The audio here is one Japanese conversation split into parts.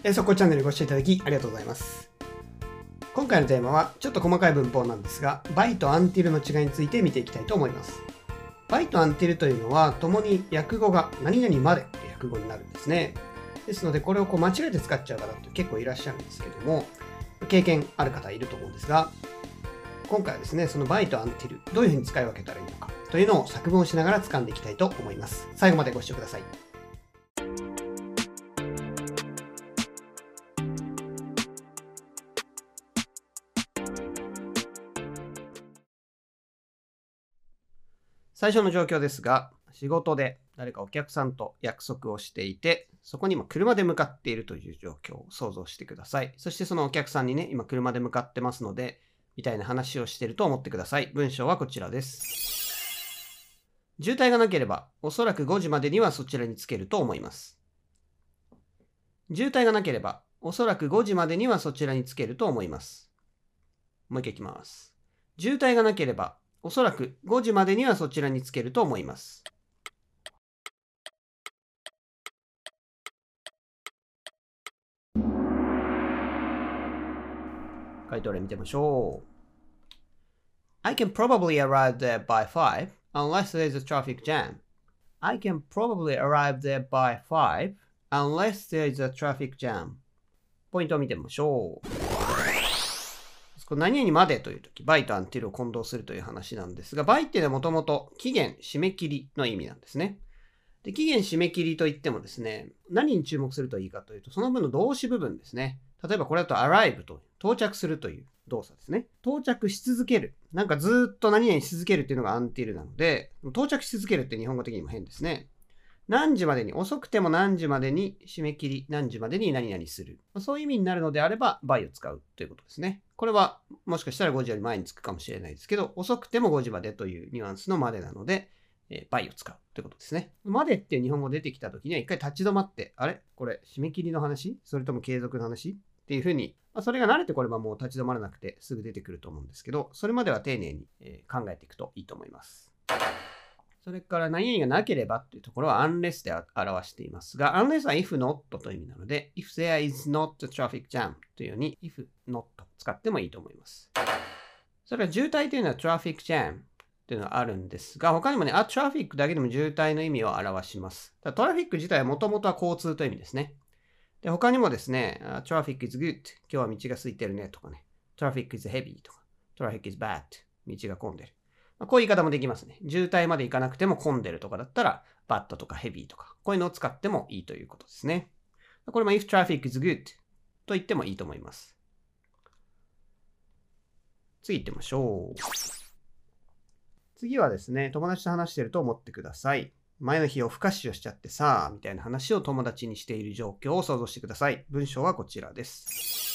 速攻チャンネルご視聴いただきありがとうございます。今回のテーマはちょっと細かい文法なんですが、by と until の違いについて見ていきたいと思います。by と until というのは、共に訳語が何々までという訳語になるんですね。ですので、これを間違えて使っちゃう方って結構いらっしゃるんですけども、経験ある方いると思うんですが、今回はですね、その by と until どういうふうに使い分けたらいいのかというのを作文をしながら掴んでいきたいと思います。最後までご視聴ください。最初の状況ですが、仕事で誰かお客さんと約束をしていて、そこに今車で向かっているという状況を想像してください。そしてそのお客さんにね、今車で向かってますので、みたいな話をしていると思ってください。文章はこちらです。渋滞がなければ、おそらく5時までにはそちらに着けると思います。渋滞がなければ、おそらく5時までにはそちらに着けると思います。もう一回いきます。渋滞がなければ、おそらく5時までにはそちらに着けると思います。回答例見てみましょう。I can probably arrive there by 5 unless there's a traffic jam. I can probably arrive there by 5 unless there's a traffic jam. ポイントを見てみましょう。何々までというとき、by と until を混同するという話なんですが、by っていうのはもともと期限、締め切りの意味なんですね。で、期限、締め切りといってもですね、何に注目するといいかというと、その分の動詞部分ですね。例えばこれだと arrive と到着するという動作ですね。到着し続ける。なんかずっと何々し続けるっていうのが until なので、到着し続けるって日本語的にも変ですね。何時までに、遅くても何時までに締め切り、何時までに何々する。そういう意味になるのであれば、by を使うということですね。これはもしかしたら5時より前につくかもしれないですけど、遅くても5時までというニュアンスのまでなので、by を使うということですね。までっていう日本語出てきたときには一回立ち止まって、あれこれ締め切りの話それとも継続の話っていうふうに、それが慣れてこればもう立ち止まらなくてすぐ出てくると思うんですけど、それまでは丁寧に考えていくといいと思います。それから何々がなければというところは unless で表していますが、unless は if not という意味なので、if there is not a traffic jam というように if not 使ってもいいと思います。それから渋滞というのは traffic jam というのがあるんですが、他にもね、トラフィックだけでも渋滞の意味を表します。トラフィック自体はもともとは交通という意味ですね。で、他にもですね、traffic is good 今日は道が空いてるねとかね、traffic is heavy とか、traffic is bad 道が混んでる。こういう言い方もできますね。渋滞まで行かなくても混んでるとかだったら、bad とか heavy とか、こういうのを使ってもいいということですね。これも if traffic is good と言ってもいいと思います。次行ってみましょう。次はですね、友達と話していると思ってください。前の日夜更かしをしちゃってさ、みたいな話を友達にしている状況を想像してください。文章はこちらです。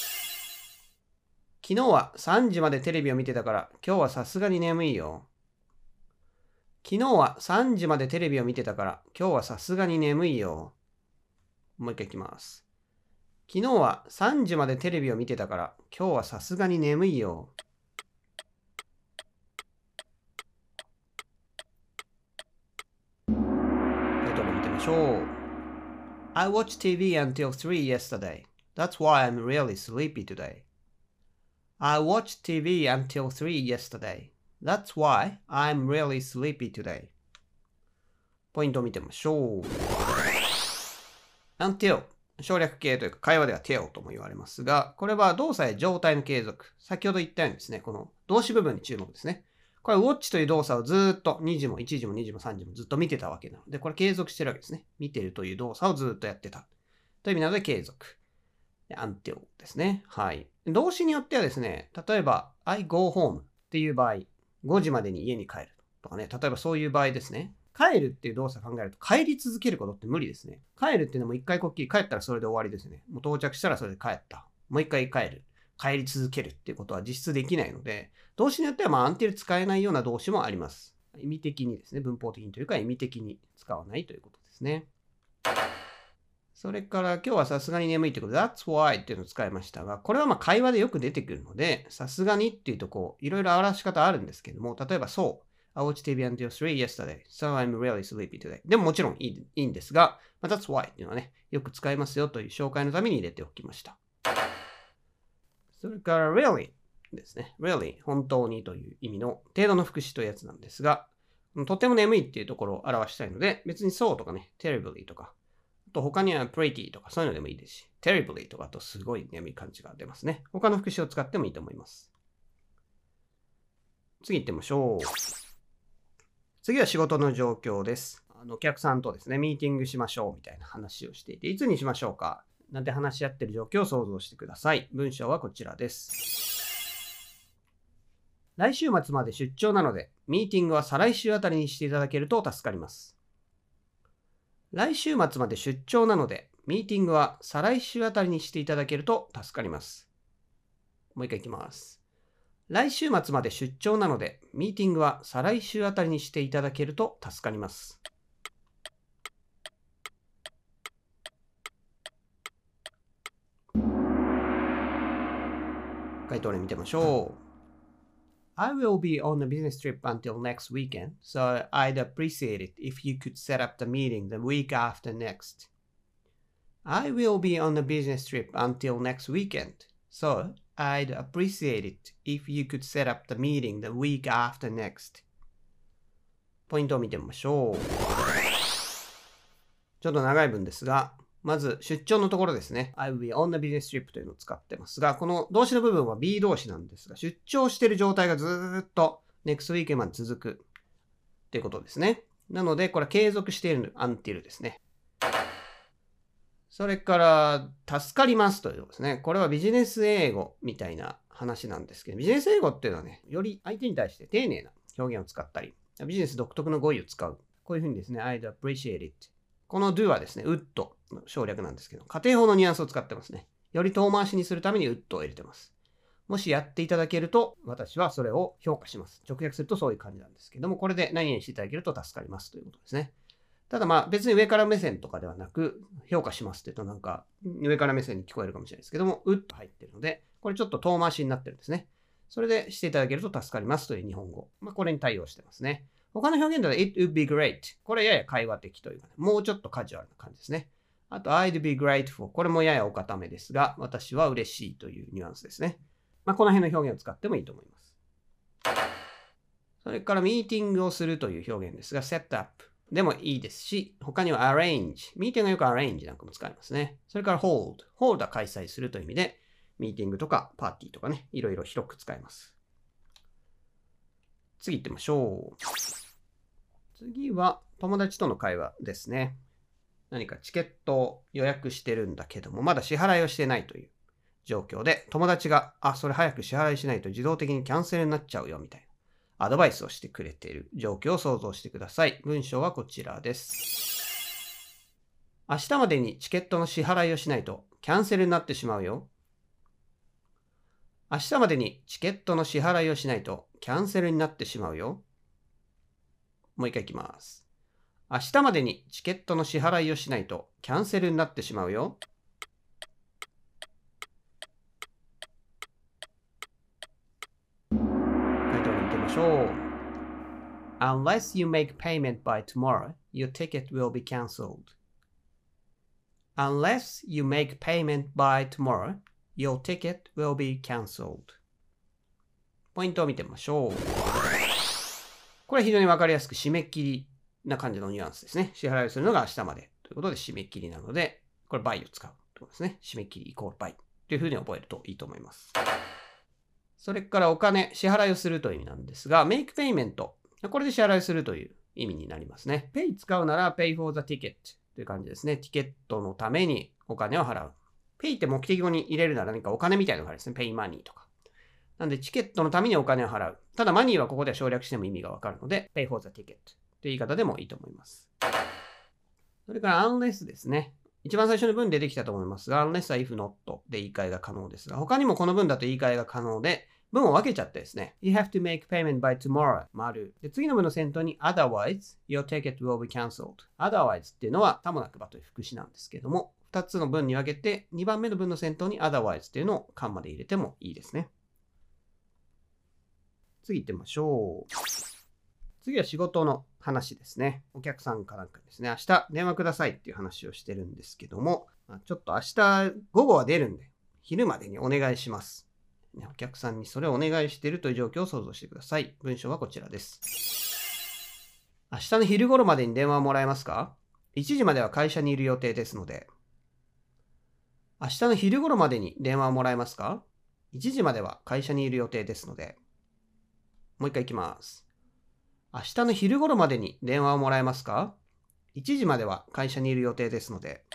昨日は3時までテレビを見てたから、今日はさすがに眠いよ。昨日は3時までテレビを見てたから、今日はさすがに眠いよ。もう一回いきます。昨日は3時までテレビを見てたから、今日はさすがに眠いよ。I watched TV until 3 yesterday. That's why I'm really sleepy today. I watched TV until 3 yesterday. That's why I'm really sleepy today. ポイントを見てみましょう。until 省略形というか会話では till とも言われますが、これは動作や状態の継続。先ほど言ったようにですね、この動詞部分に注目ですね。これは watch という動作をずっと2時も1時も2時も3時もずっと見てたわけなので、これ継続してるわけですね。見てるという動作をずっとやってた。という意味なので継続。until ですね。はい。動詞によってはですね、例えば I go home っていう場合、5時までに家に帰るとかね、例えばそういう場合ですね。帰るっていう動作を考えると帰り続けることって無理ですね。帰るっていうのも一回こっきり帰ったらそれで終わりですね。もう到着したらそれで帰った。もう一回帰る。帰り続けるっていうことは実質できないので、動詞によってはuntil使えないような動詞もあります。意味的にですね、文法的にというか意味的に使わないということですね。それから今日はさすがに眠いってことで That's why っていうのを使いましたが、これは会話でよく出てくるので、さすがにっていうといろいろ表し方あるんですけども、例えばそう、 I watched TV until 3 yesterday, so I'm really sleepy today. でももちろんいいんですが、That's why っていうのはね、よく使いますよという紹介のために入れておきました。それから really ですね。really 本当にという意味の程度の副詞というやつなんですが、とても眠いっていうところを表したいので、別にそうとかね、terribly とか、あと他には pretty とかそういうのでもいいですし、terribly とかとすごい眠い感じが出ますね。他の副詞を使ってもいいと思います。次行ってみましょう。次は仕事の状況です。お客さんとですね、ミーティングしましょうみたいな話をしていて、いつにしましょうかなんて話し合っている状況を想像してください。文章はこちらです。来週末まで出張なので、ミーティングは再来週あたりにしていただけると助かります。来週末まで出張なので、ミーティングは再来週あたりにしていただけると助かります。もう一回いきます。来週末まで出張なので、ミーティングは再来週あたりにしていただけると助かります。回答例見てみましょう。I will be on a business trip until next weekend, so I'd appreciate it if you could set up the meeting the week after next. I will be on a business trip until next weekend, so I'd appreciate it if you could set up the meeting the week after next. ポイントを見てみましょう。ちょっと長い文ですが、まず出張のところですね。I will be on a business trip というのを使ってますが、この動詞の部分は be 動詞なんですが、出張している状態がずーっと next weekend まで続くっていうことですね。なので、これは継続している until ですね。それから、助かりますということですね。これはビジネス英語みたいな話なんですけど、ビジネス英語っていうのはね、より相手に対して丁寧な表現を使ったり、ビジネス独特の語彙を使う。こういうふうにですね、I'd appreciate it。この do はですね、would の省略なんですけど、家庭法のニュアンスを使ってますね。より遠回しにするために would を入れてます。もしやっていただけると、私はそれを評価します。直訳するとそういう感じなんですけども、これで何々していただけると助かりますということですね。ただまあ別に上から目線とかではなく、評価しますって言うとなんか上から目線に聞こえるかもしれないですけども、would 入ってるので、これちょっと遠回しになってるんですね。それでしていただけると助かりますという日本語。これに対応してますね。他の表現では It would be great。これやや会話的というかね、もうちょっとカジュアルな感じですね。あと I'd be grateful。これもややお固めですが、私は嬉しいというニュアンスですね。この辺の表現を使ってもいいと思います。それからミーティングをするという表現ですが、set up でもいいですし、他には arrange。ミーティングはよく arrange なんかも使いますね。それから hold。hold は開催するという意味で、ミーティングとかパーティーとかね、いろいろ広く使います。次行ってみましょう。次は友達との会話ですね。何かチケットを予約してるんだけども、まだ支払いをしてないという状況で、友達が、それ早く支払いしないと自動的にキャンセルになっちゃうよみたいなアドバイスをしてくれている状況を想像してください。文章はこちらです。明日までにチケットの支払いをしないとキャンセルになってしまうよ。明日までにチケットの支払いをしないとキャンセルになってしまうよ。もう一回いきます。明日までにチケットの支払いをしないとキャンセルになってしまうよ。回答に行ってみましょう。Unless you make payment by tomorrow, your ticket will be cancelled. Unless you make payment by tomorrow, your ticket will be cancelled. ポイントを見てみましょう。これ非常にわかりやすく締め切りな感じのニュアンスですね。支払いをするのが明日までということで締め切りなので、これ by を使うということですね。締め切りイコール by というふうに覚えるといいと思います。それからお金、支払いをするという意味なんですが、make payment。これで支払いするという意味になりますね。pay 使うなら pay for the ticket という感じですね。ティケットのためにお金を払う。pay って目的語に入れるなら何かお金みたいなのがあるんですね。pay money とか。なんでチケットのためにお金を払う。ただマニーはここでは省略しても意味がわかるので、pay for the ticket という言い方でもいいと思います。それから unless ですね。一番最初の文でできたと思いますが、unless は if not で言い換えが可能ですが、他にもこの文だと言い換えが可能で、文を分けちゃってですね。You have to make payment by tomorrow. 丸。で、次の文の先頭に otherwise, your ticket will be cancelled. otherwise っていうのは、たもなくばという副詞なんですけども、2つの文に分けて、2番目の文の先頭に otherwise っていうのをカンマで入れてもいいですね。次行ってみましょう。 次は仕事の話ですね。お客さんかなんかですね、明日電話くださいっていう話をしてるんですけども、ちょっと明日午後は出るんで、昼までにお願いします。お客さんにそれをお願いしているという状況を想像してください。文章はこちらです。明日の昼頃までに電話をもらえますか？ 1 時までは会社にいる予定ですので。明日の昼頃までに電話をもらえますか？ 1 時までは会社にいる予定ですので。もう一回いきます。明日の昼頃までに電話をもらえますか？ 1 時までは会社にいる予定ですので。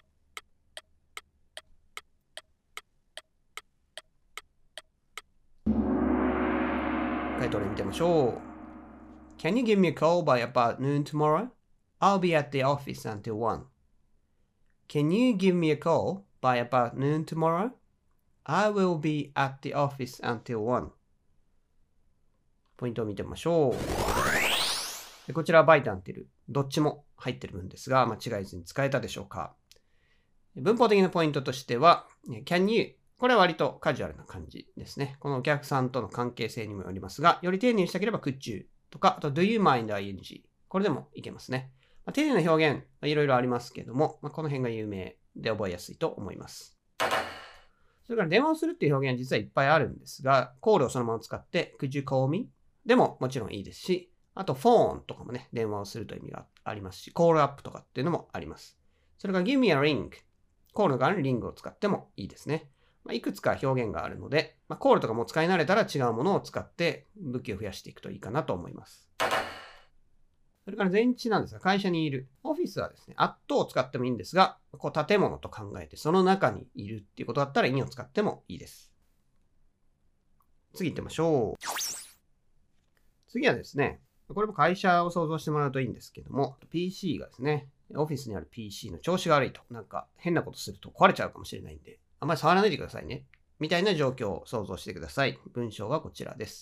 回答例見てみましょう。Can you give me a call by about noon tomorrow? I'll be at the office until 1. Can you give me a call by about noon tomorrow? I will be at the office until 1. ポイントを見てみましょう。でこちらは by と until どっちも入っている文ですが、間違えずに使えたでしょうか。文法的なポイントとしては、can you これは割とカジュアルな感じですね。このお客さんとの関係性にもよりますが、より丁寧にしたければ could you とか、あと do you mind ing これでもいけますね。丁寧な表現いろいろありますけども、この辺が有名で覚えやすいと思います。それから電話をするっていう表現は実はいっぱいあるんですが、コールをそのまま使って could you call me でももちろんいいですし、あとフォンとかもね、電話をするという意味がありますし、コールアップとかっていうのもあります。それから give me a ring コールの代わりにリングを使ってもいいですね。いくつか表現があるので、コールとかも使い慣れたら違うものを使って武器を増やしていくといいかなと思います。それから前置なんですが、会社にいる。オフィスはですね、at を使ってもいいんですが、建物と考えてその中にいるっていうことだったら in を使ってもいいです。次行ってみましょう。次はですね、これも会社を想像してもらうといいんですけども、PC がですね、オフィスにある PC の調子が悪いと、なんか変なことすると壊れちゃうかもしれないんで、あんまり触らないでくださいね。みたいな状況を想像してください。文章はこちらです。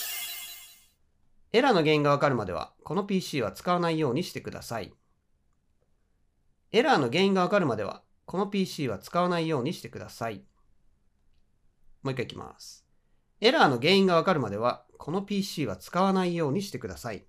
エラーの原因がわかるまでは、この PC は使わないようにしてください。エラーの原因がわかるまでは、この PC は使わないようにしてください。もう一回いきます。エラーの原因がわかるまでは、この PC は使わないようにしてください。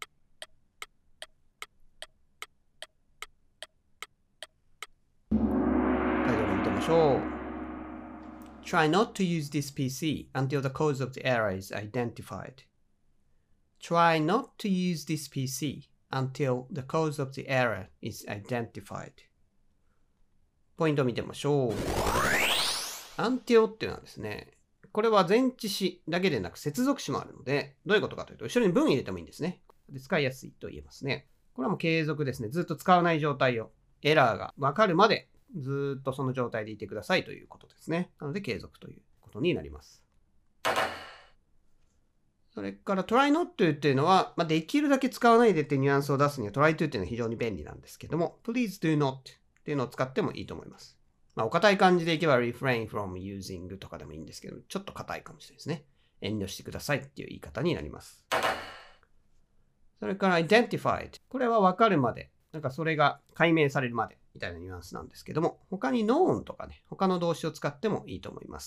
タイトル見てみましょう。Try not to use this PC until the cause of the error is identified. Try not to use this PC until the cause of the error is identified. ポイントを見てみましょう。until っていうのはですね、これは前置詞だけでなく接続詞もあるので、どういうことかというと、後ろに文入れてもいいんですね。で使いやすいと言えますね。これはもう継続ですね。ずっと使わない状態を、エラーがわかるまでずっとその状態でいてくださいということですね。なので継続ということになります。それから try not to っていうのは、できるだけ使わないでってニュアンスを出すには try to っていうのは非常に便利なんですけども、please do not っていうのを使ってもいいと思います。お堅い感じでいけば refrain from using とかでもいいんですけど、ちょっと硬いかもしれないですね。遠慮してくださいっていう言い方になります。それから identified。これは分かるまで、なんかそれが解明されるまでみたいなニュアンスなんですけども、他に known とかね、他の動詞を使ってもいいと思います。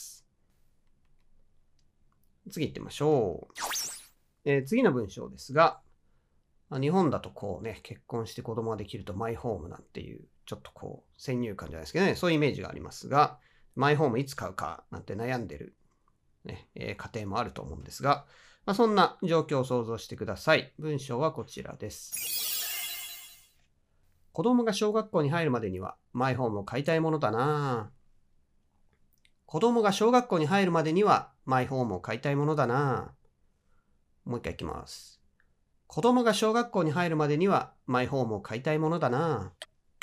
次行ってみましょう。次の文章ですが、日本だとこうね、結婚して子供ができるとマイホームなんていう、ちょっとこう先入観じゃないですけどね、そういうイメージがありますが、マイホームいつ買うかなんて悩んでる、ね家庭もあると思うんですが、そんな状況を想像してください。文章はこちらです。子供が小学校に入るまでにはマイホームを買いたいものだな。子供が小学校に入るまでにはマイホームを買いたいものだな。もう一回いきます。子供が小学校に入るまでにはマイホームを買いたいものだな。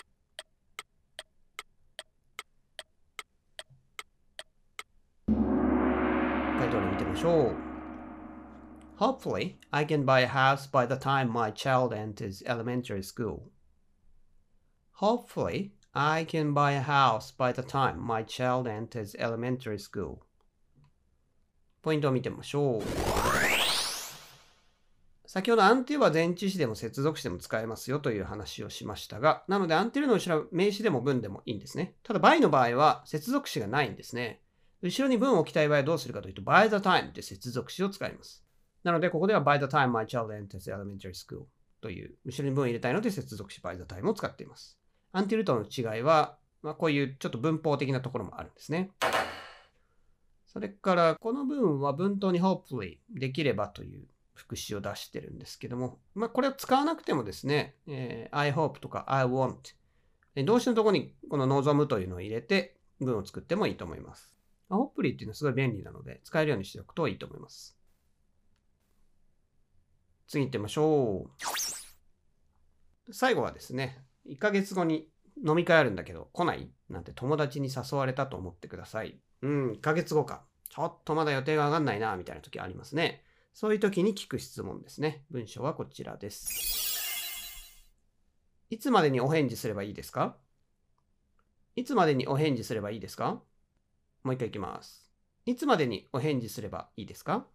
回答例見てみましょう。Hopefully, I can buy a house by the time my child enters elementary school. Hopefully, I can buy a house by the time my child enters elementary school. ポイントを見てみましょう。先ほど until は前置詞でも接続詞でも使えますよという話をしましたが、なので until の後ろは名詞でも文でもいいんですね。ただ by の場合は接続詞がないんですね。後ろに文を置きたい場合はどうするかというと by the time って接続詞を使います。 なので、ここでは by the time my child enters elementary school という後ろに文を入れたいので接続詞 by the time を使っています。until との違いは、こういうちょっと文法的なところもあるんですね。それから、この文は文頭に hopefully できればという副詞を出してるんですけども、これを使わなくてもですね、I hope とか I want 動詞のところにこの望むというのを入れて文を作ってもいいと思います。hopefully っていうのはすごい便利なので使えるようにしておくといいと思います。次行ってみましょう。最後はですね、1ヶ月後に飲み会あるんだけど来ないなんて友達に誘われたと思ってください。1ヶ月後か。ちょっとまだ予定が上がんないな、みたいな時ありますね。そういう時に聞く質問ですね。文章はこちらです。いつまでにお返事すればいいですか？いつまでにお返事すればいいですか？もう一回いきます。いつまでにお返事すればいいですか？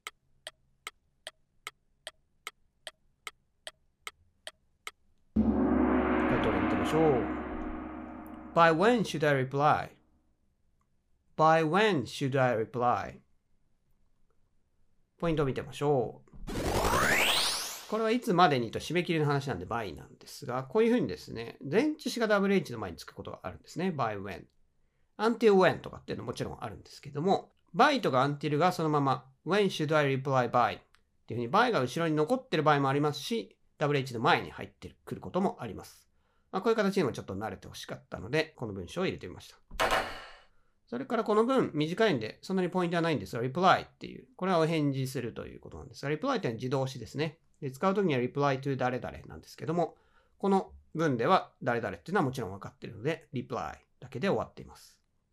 回答で見てみましょう。By when should I reply? By when should I reply? ポイントを見てみましょう。これはいつまでにと締め切りの話なんで by なんですが、こういうふうにですね、前置詞が WH の前につくことがあるんですね。by when。until when とかっていうのももちろんあるんですけども、by とか until がそのまま when should I reply by っていうふうに by が後ろに残ってる場合もありますし、WH の前に入ってくることもあります。こういう形にもちょっと慣れてほしかったので、この文章を入れてみました。それからこの文短いんで、そんなにポイントはないんですが、reply っていう、これはお返事するということなんですが、reply っていうのは自動詞ですね。で使うときには reply to 誰々なんですけども、この文では誰々っていうのはもちろん分かっているので、reply だけで終わっています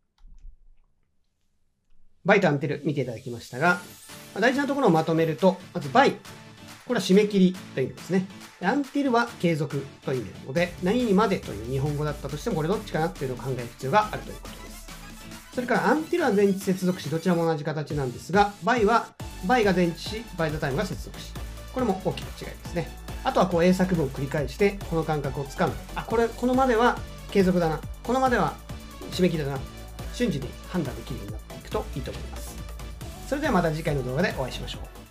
。by と until 見ていただきましたが、大事なところをまとめると、まず by、これは締め切りという意味ですね。until は継続という意味なので、何々までという日本語だったとしても、これどっちかなっていうのを考える必要があるということです。それから until は前置接続詞、どちらも同じ形なんですが、by は by が前置詞、by the time が接続詞。これも大きな違いですね。あとはこう英作文を繰り返して、この感覚をつかんで、このまでは継続だな、このまでは締め切りだな、瞬時に判断できるようになっていくといいと思います。それではまた次回の動画でお会いしましょう。